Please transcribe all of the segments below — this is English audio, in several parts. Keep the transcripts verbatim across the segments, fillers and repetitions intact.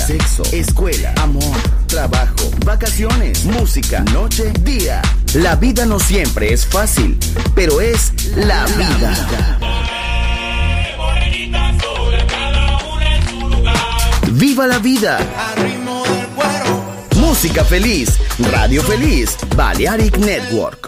sexo, escuela, amor, trabajo, vacaciones, música, noche, día. La vida no siempre es fácil, pero es la vida. ¡Viva la vida! Música feliz, radio feliz, Balearic Network.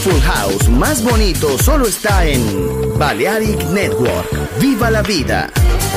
Full House más bonito solo está en Balearic Network. ¡Viva la vida!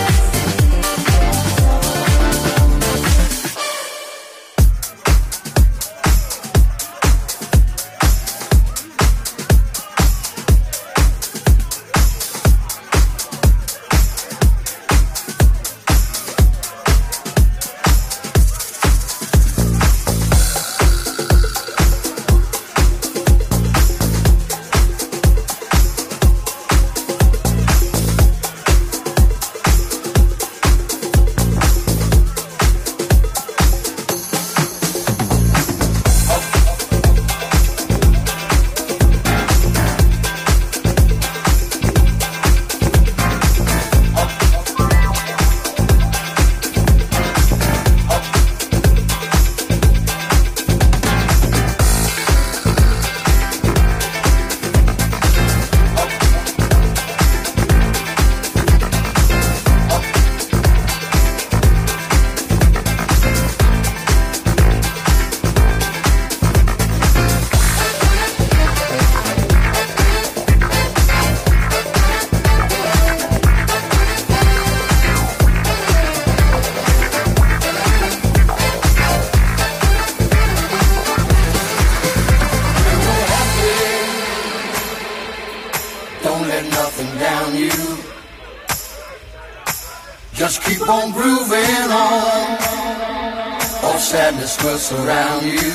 Will surround you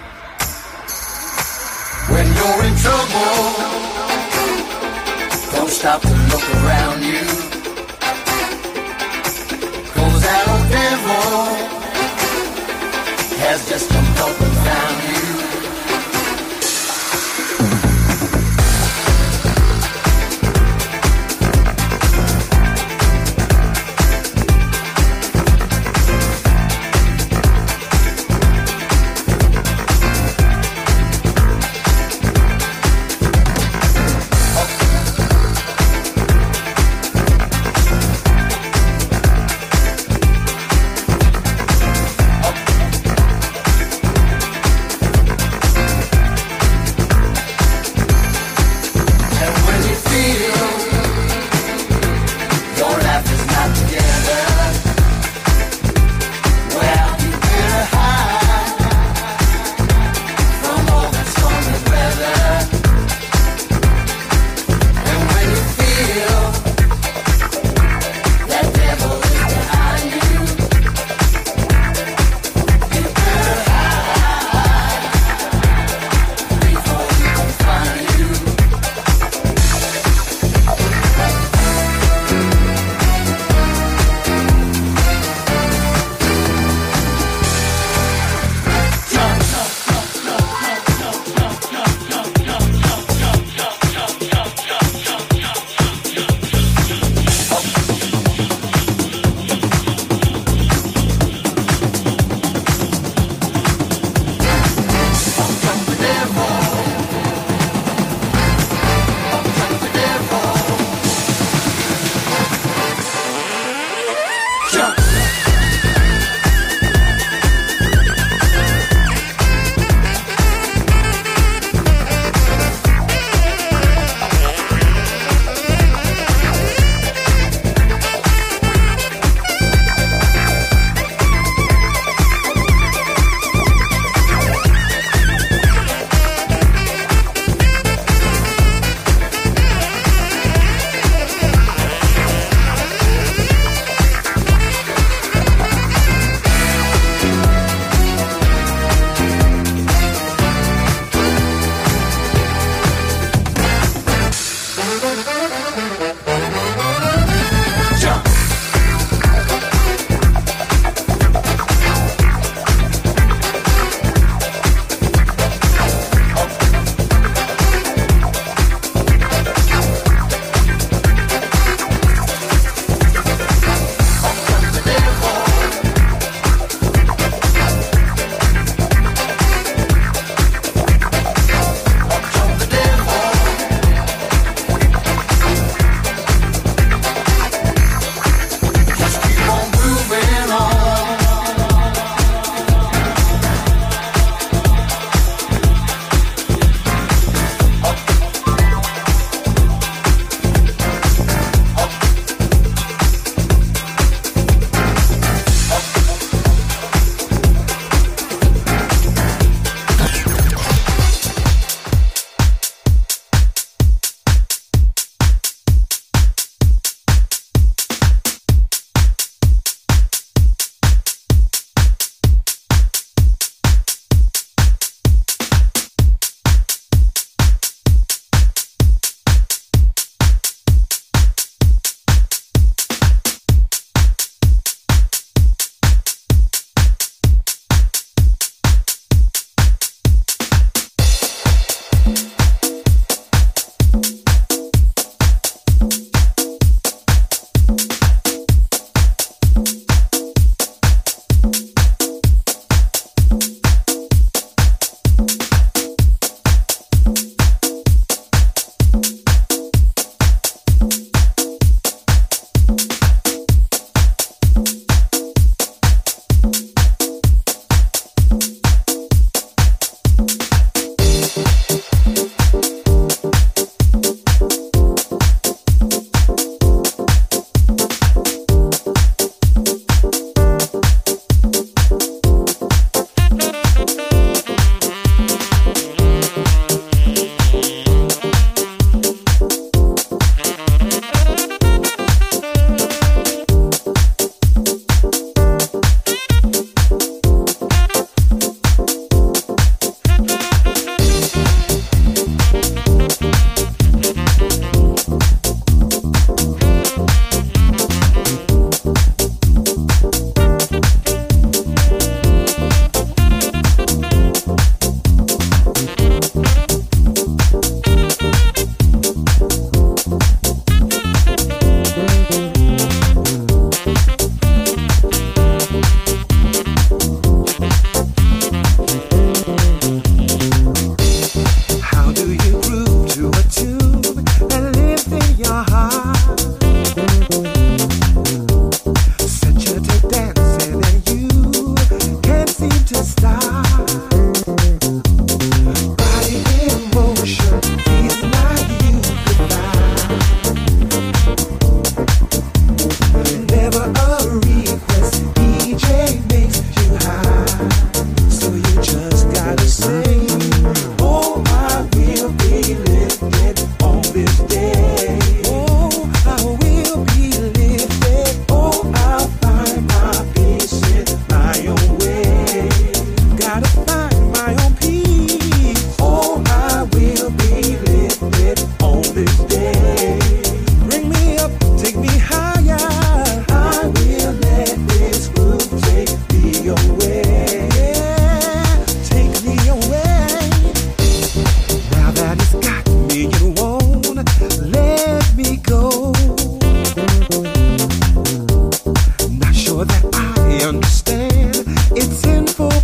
when you're in trouble. Don't stop to look around you, 'cause that old devil has just come up and found you.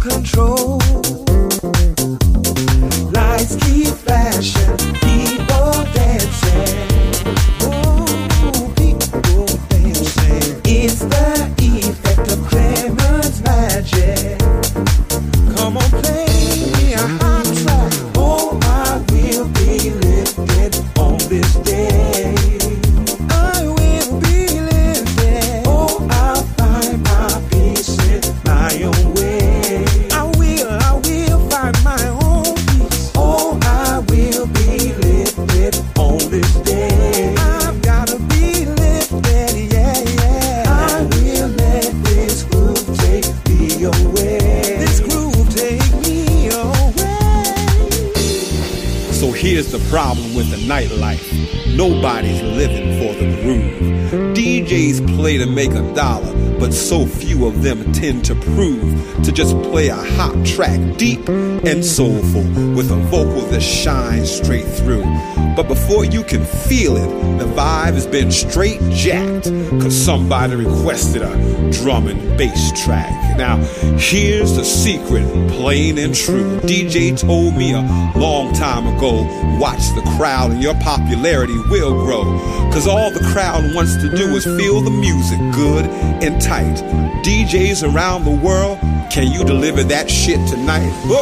control. Lights keep flashing, people dancing. Oh, people dancing. It's the effect of Clement's magic. Come on, play me a hot track. Oh, I will be lifted on this day. I will be lifted. Oh, I'll find my peace in my own way. I will, I will find my own peace. Oh, I will be lifted on this day. I've gotta be lifted, yeah, yeah. I will let this groove take me away. This groove take me away. So here's the problem with the nightlife. Nobody's living for the groove. D Js play to make a dollar, but so few of them tend to prove to just play a hot track, deep and soulful, with a vocal that shines straight through. But before you can feel it, the vibe has been straight jacked, cause somebody requested a drum and bass track. Now, here's the secret, plain and true. D J told me a long time ago, watch the crowd and your popularity will grow. Cause all the crowd wants to do is feel the music good and tight. D Js around the world, can you deliver that shit tonight? Whoa!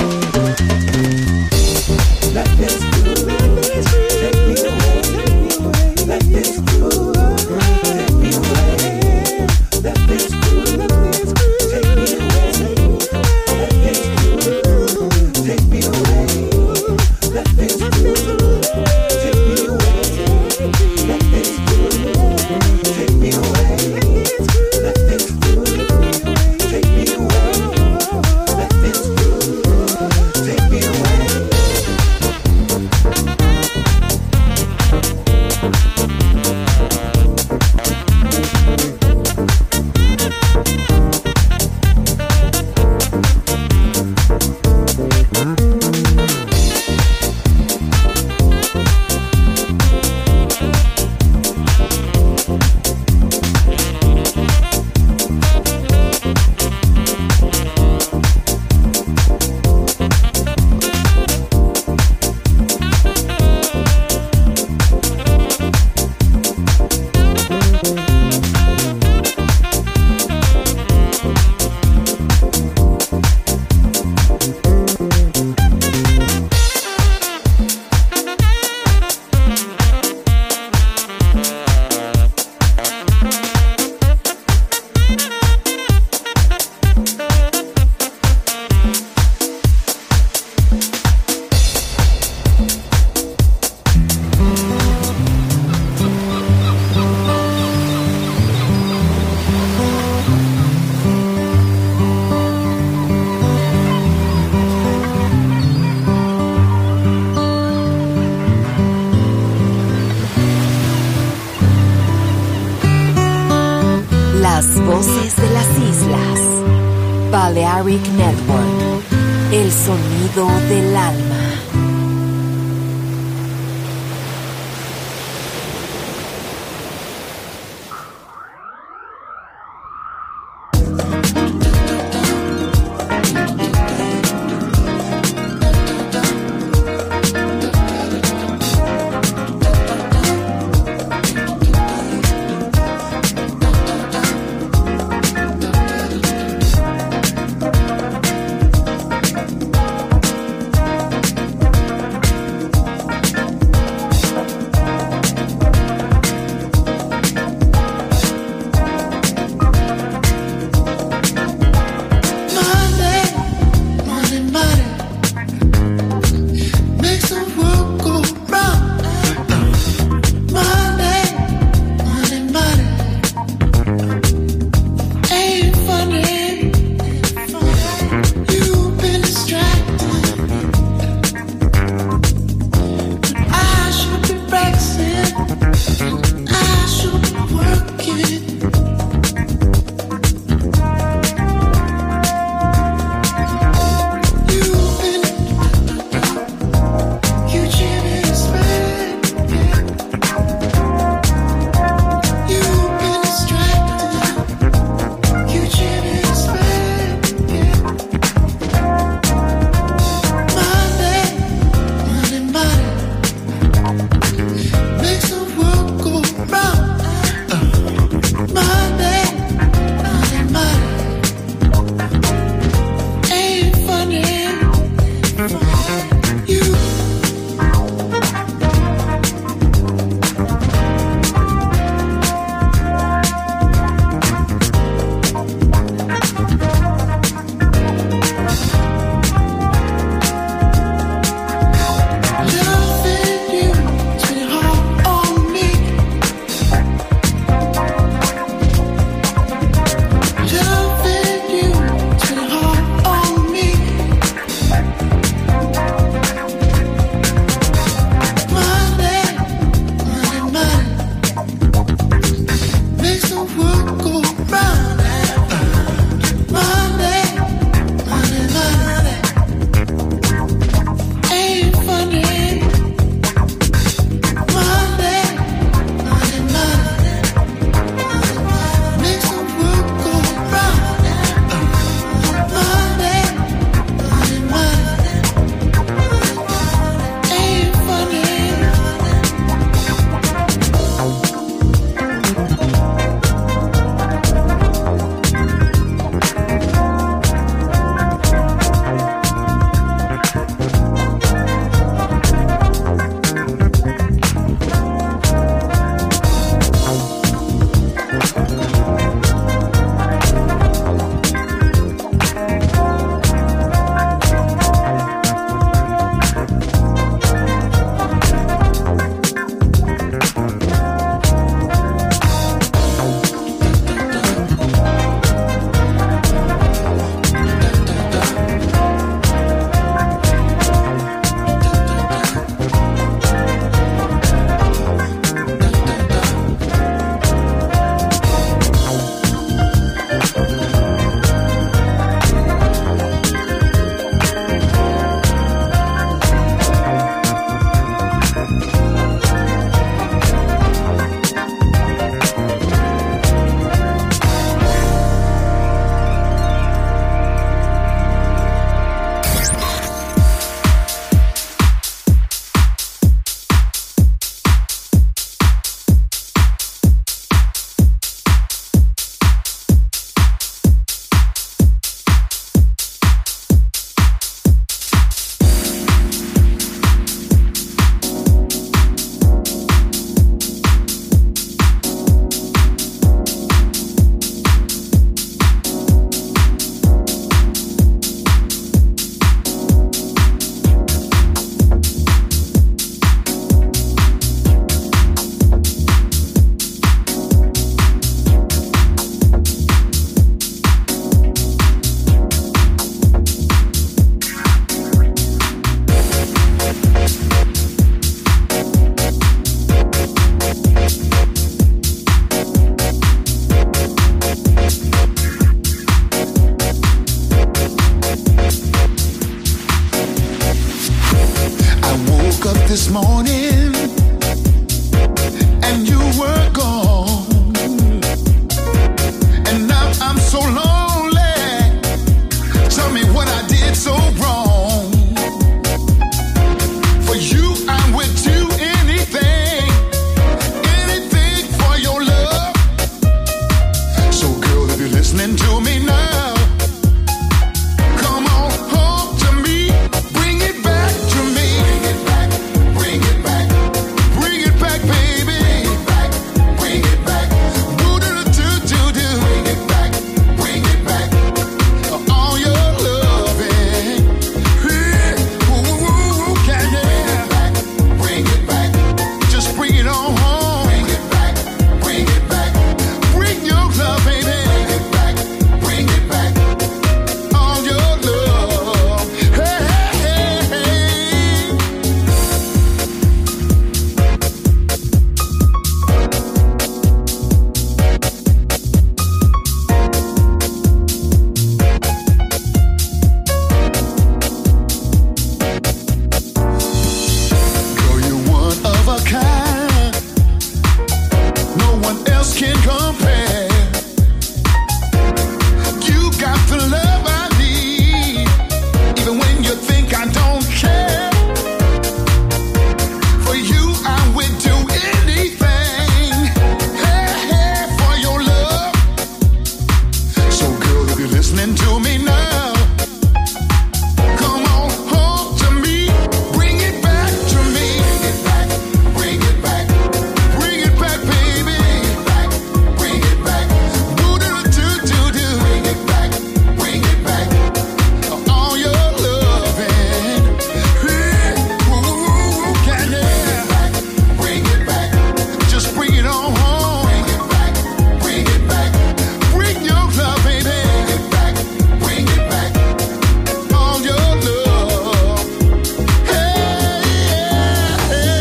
Let this groove take me away. Let this groove take me away. Let this groove take me away. Let this groove take me away. Let this groove take me away. Let this groove take me away. Let this groove take me away. Let this groove take me away. Voces de las Islas. Balearic Network. El sonido del alma. this morning and you were gone, and now I'm so lonely. Tell me what I did so wrong. For you I would do anything, anything for your love. So girl, if you're listening to me now, come on home to me, bring it back to me. Bring it back, bring it back, bring it back, baby. Bring it back, bring it back. Do do do do do. Bring it back, bring it back. All your loving, yeah. Ooh, ooh, ooh, yeah, yeah. Bring it back, just bring it on home. Bring it back, bring it back. Bring your love, baby. Bring it back, bring it back. All your love, hey, hey, hey. Girl, you're one of a kind. No one else can compare. You got the love I need, even when you think I don't care. For you, I would do anything, hey, hey, for your love. So, girl, if you're listening to me now, come on home to me, bring it back to me. Bring it back, bring it back, baby. Bring it back, do do do do do. Bring it back, bring it back. All your loving, yeah. Ooh, ooh, yeah, yeah. Bring it back, just bring it on home. Bring it back, bring it back. Bring your love, baby. Bring it back, bring it back. All your love, hey, yeah, hey.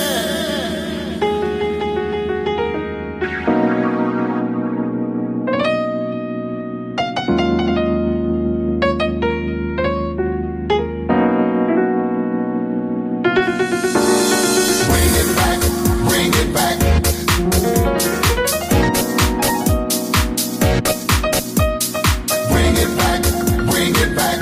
Bring it back, bring it back. Bring it back, bring it back.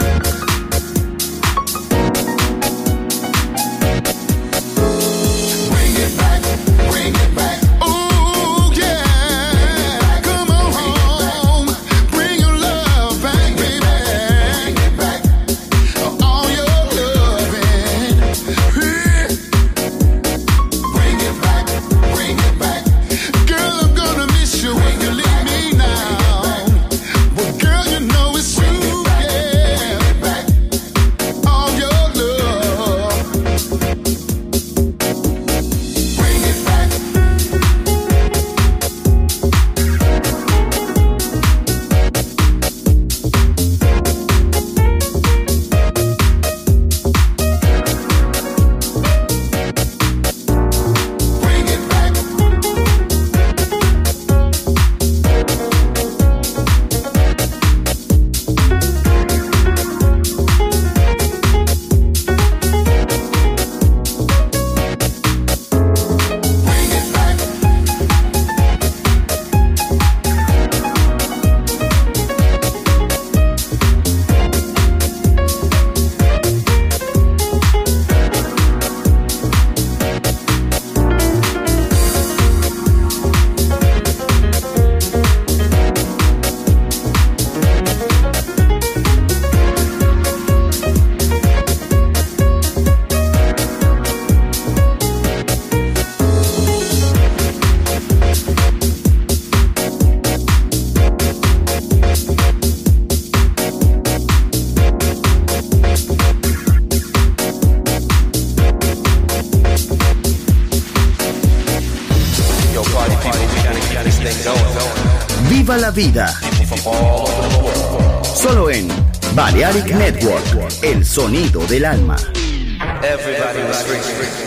Bring it back, bring it back. Oh yeah, come on home, bring your love back, baby. Bring it back, all your loving, yeah. Bring it back, bring it back. Girl, I'm gonna miss you when you leave me now. But girl, you know it's true, yeah. All your love. Bring it back. Bring it back. Bring it back. Viva la vida. Solo en Balearic Network, el sonido del alma. Everybody was free.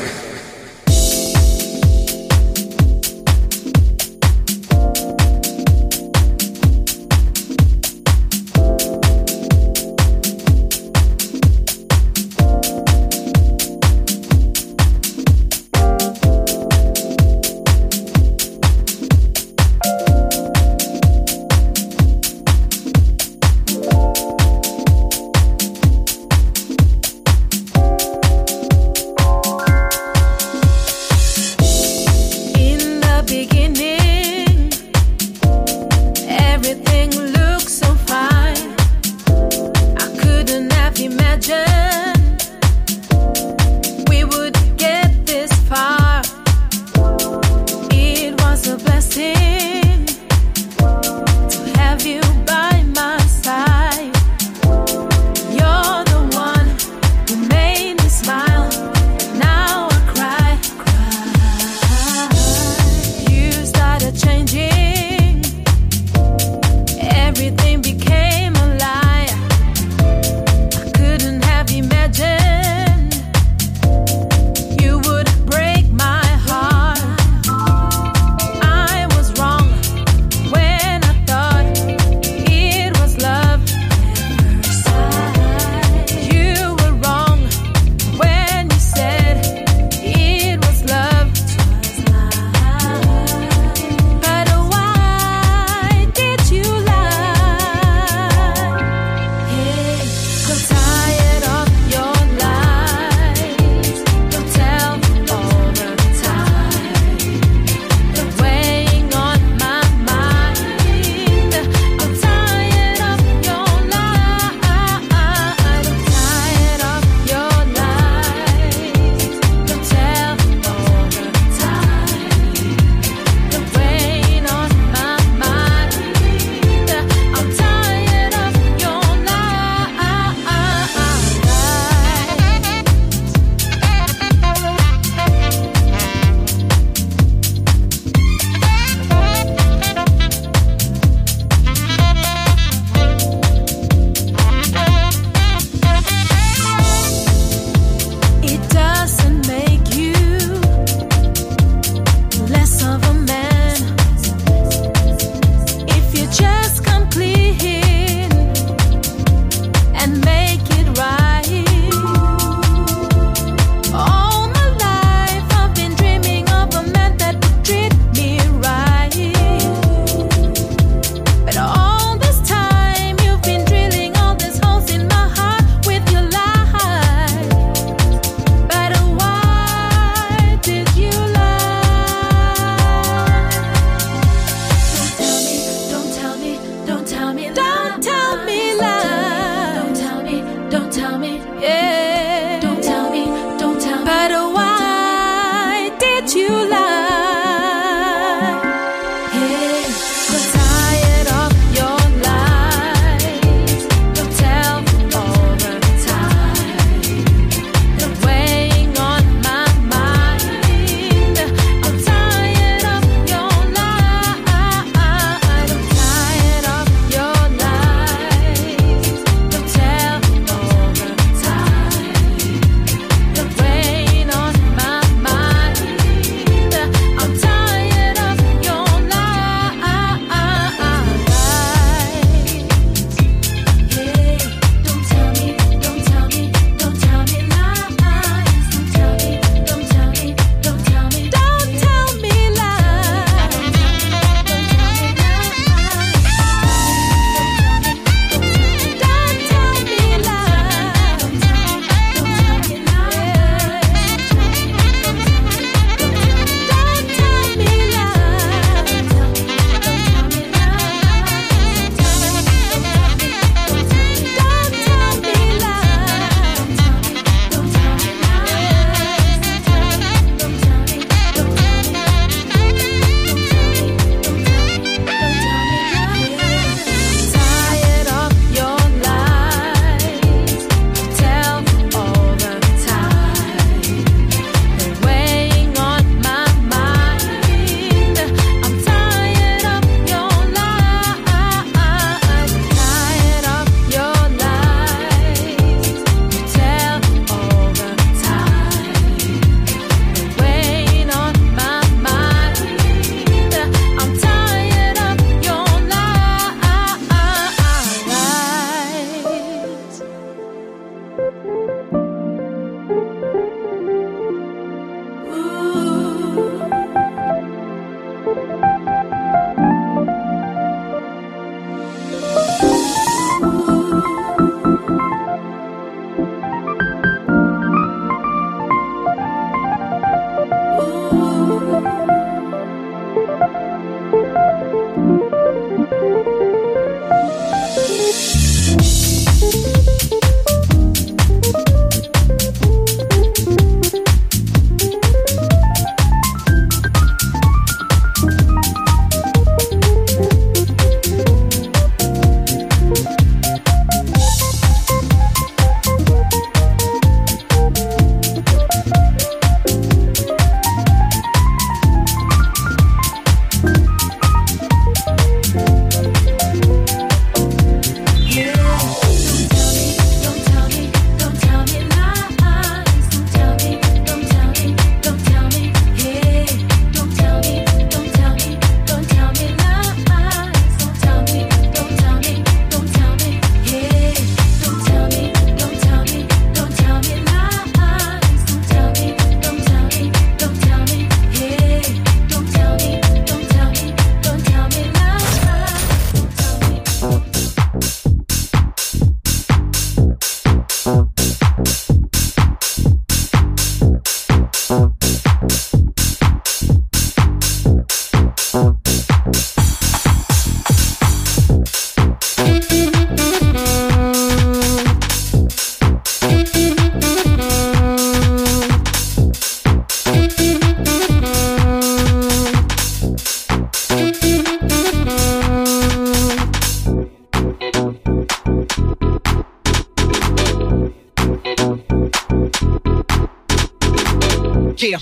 Yeah.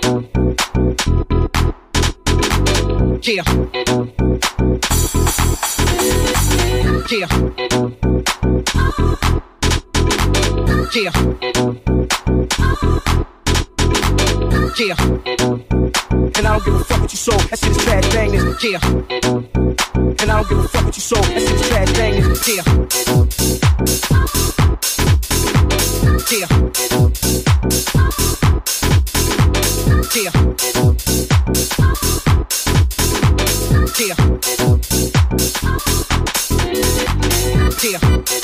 Yeah. Yeah. Yeah. Yeah. And I don't give a fuck what you sold. That shit is trash bangers. Yeah. And I don't give a fuck what you sold. That shit is trash bangers. Yeah. Yeah. Yeah. Yeah. Yeah.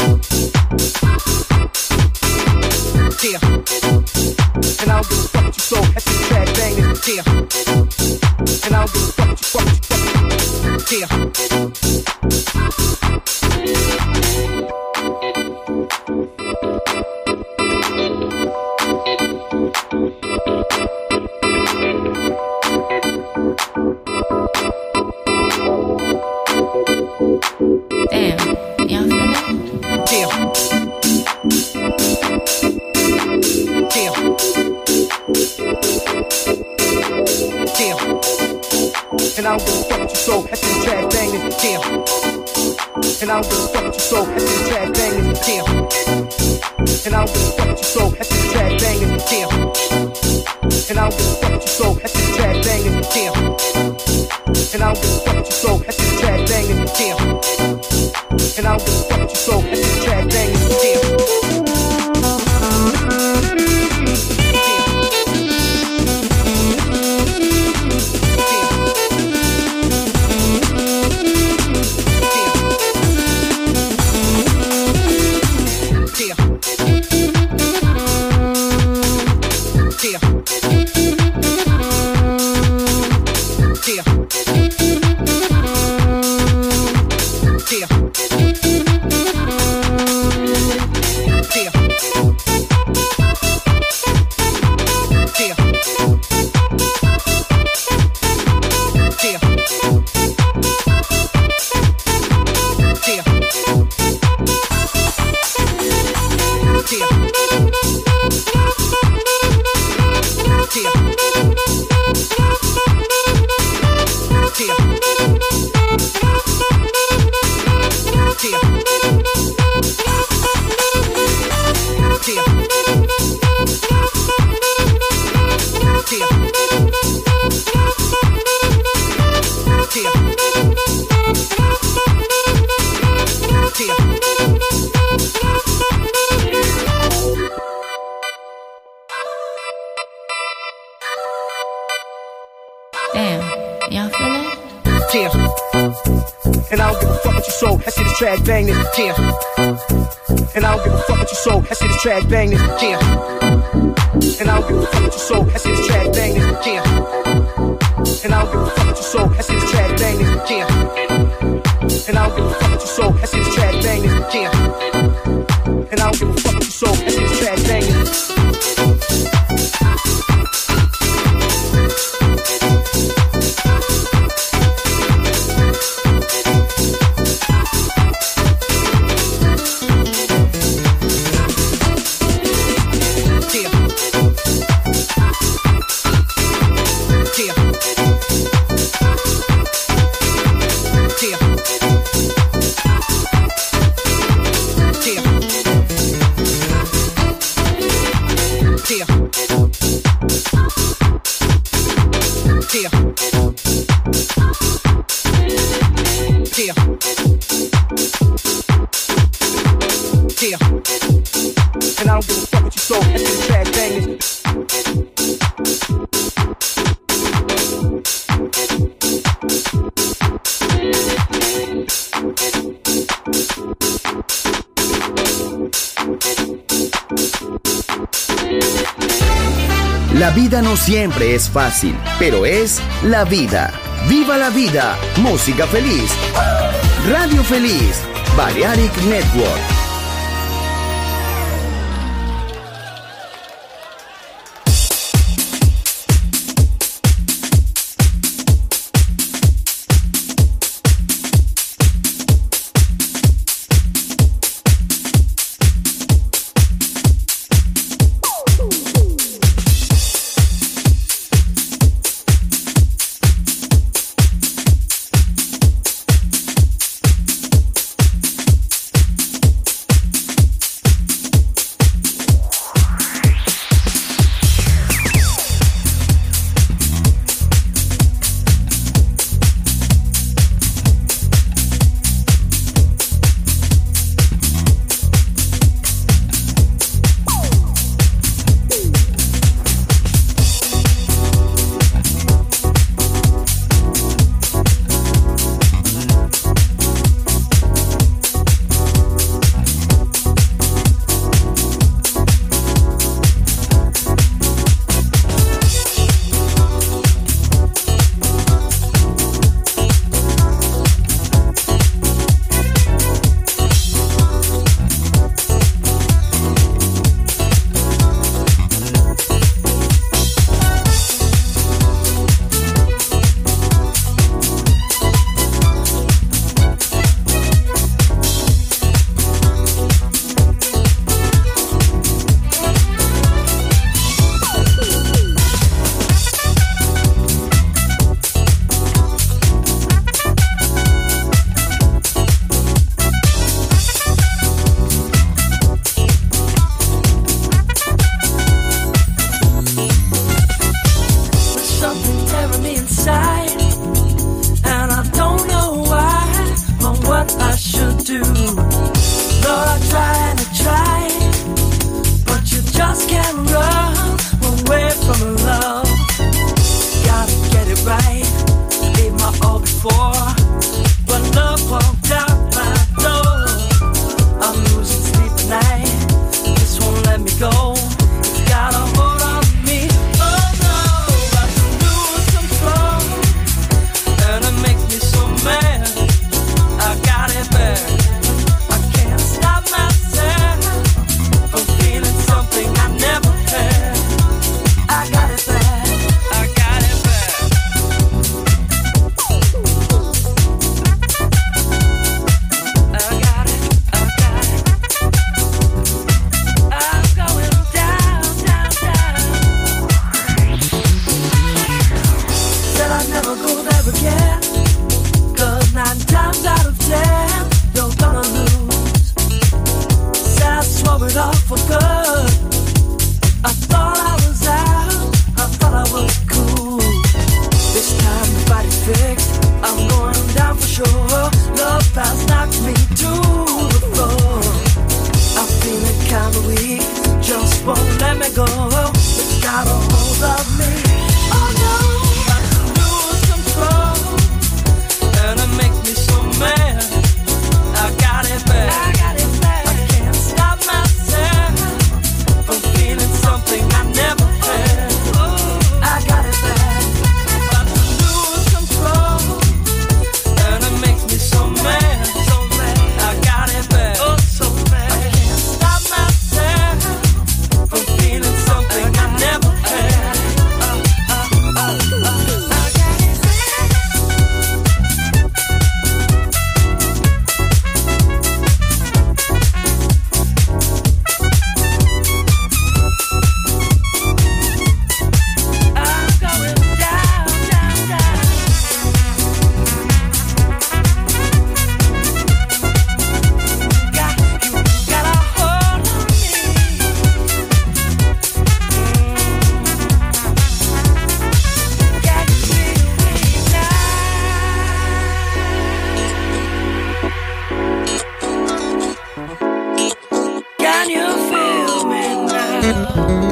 Yeah. And I don't give a fuck what you sold. That shit is trash bangers. Yeah. And I don't give a fuck what you fuck what you fuck. Yeah. Damn, y'all feel that? Yeah. Yeah. Yeah. And I don't give a fuck what you sold. That shit is trash bangers. Yeah. And I don't give a fuck what you sold. That shit is trash bangers. Yeah. And I don't give a fuck what you sold. That shit is trash bangers. Yeah. And I don't give a fuck what you sold. That shit is trash bangers. Yeah. And I don't give a fuck what you sold. That shit is trash bangers. Yeah. And I don't give a fuck what you sold. That shit is trash bangers. Yeah. Trash bangers, yeah. And I don't give a fuck what you sold. That shit is trash bangers, yeah. And I don't give a fuck what you sold. That shit is trash bangers, yeah. And I don't give a fuck what you sold. That shit is trash bangers, yeah. And I don't give a fuck what you sold. That shit is trash bangers, yeah. And I don't give a fuck what you sold. That shit is trash bangers. La vida no siempre es fácil, pero es la vida. ¡Viva la vida! Música feliz. Radio Feliz. Balearic Network. blow it off for good. I thought I was out, I thought I was cool. This time the body's fixed, I'm going down for sure. Love has knocked me to the floor. I'm feeling kinda weak, just won't let me go. It's got a hold of me. Oh no, I lose control, and it makes me so mad. I got it back, I got it back. I can't stop myself from feeling something I never had. I got it back, I lose control, and it makes me so mad, so mad. I got it back, oh so mad. I can't stop myself from feeling something I never had. Uh, uh, uh, uh, I got it back. I'm going down, down, down. Got you, got a hold on me. Can you feel me now? Can you feel me now?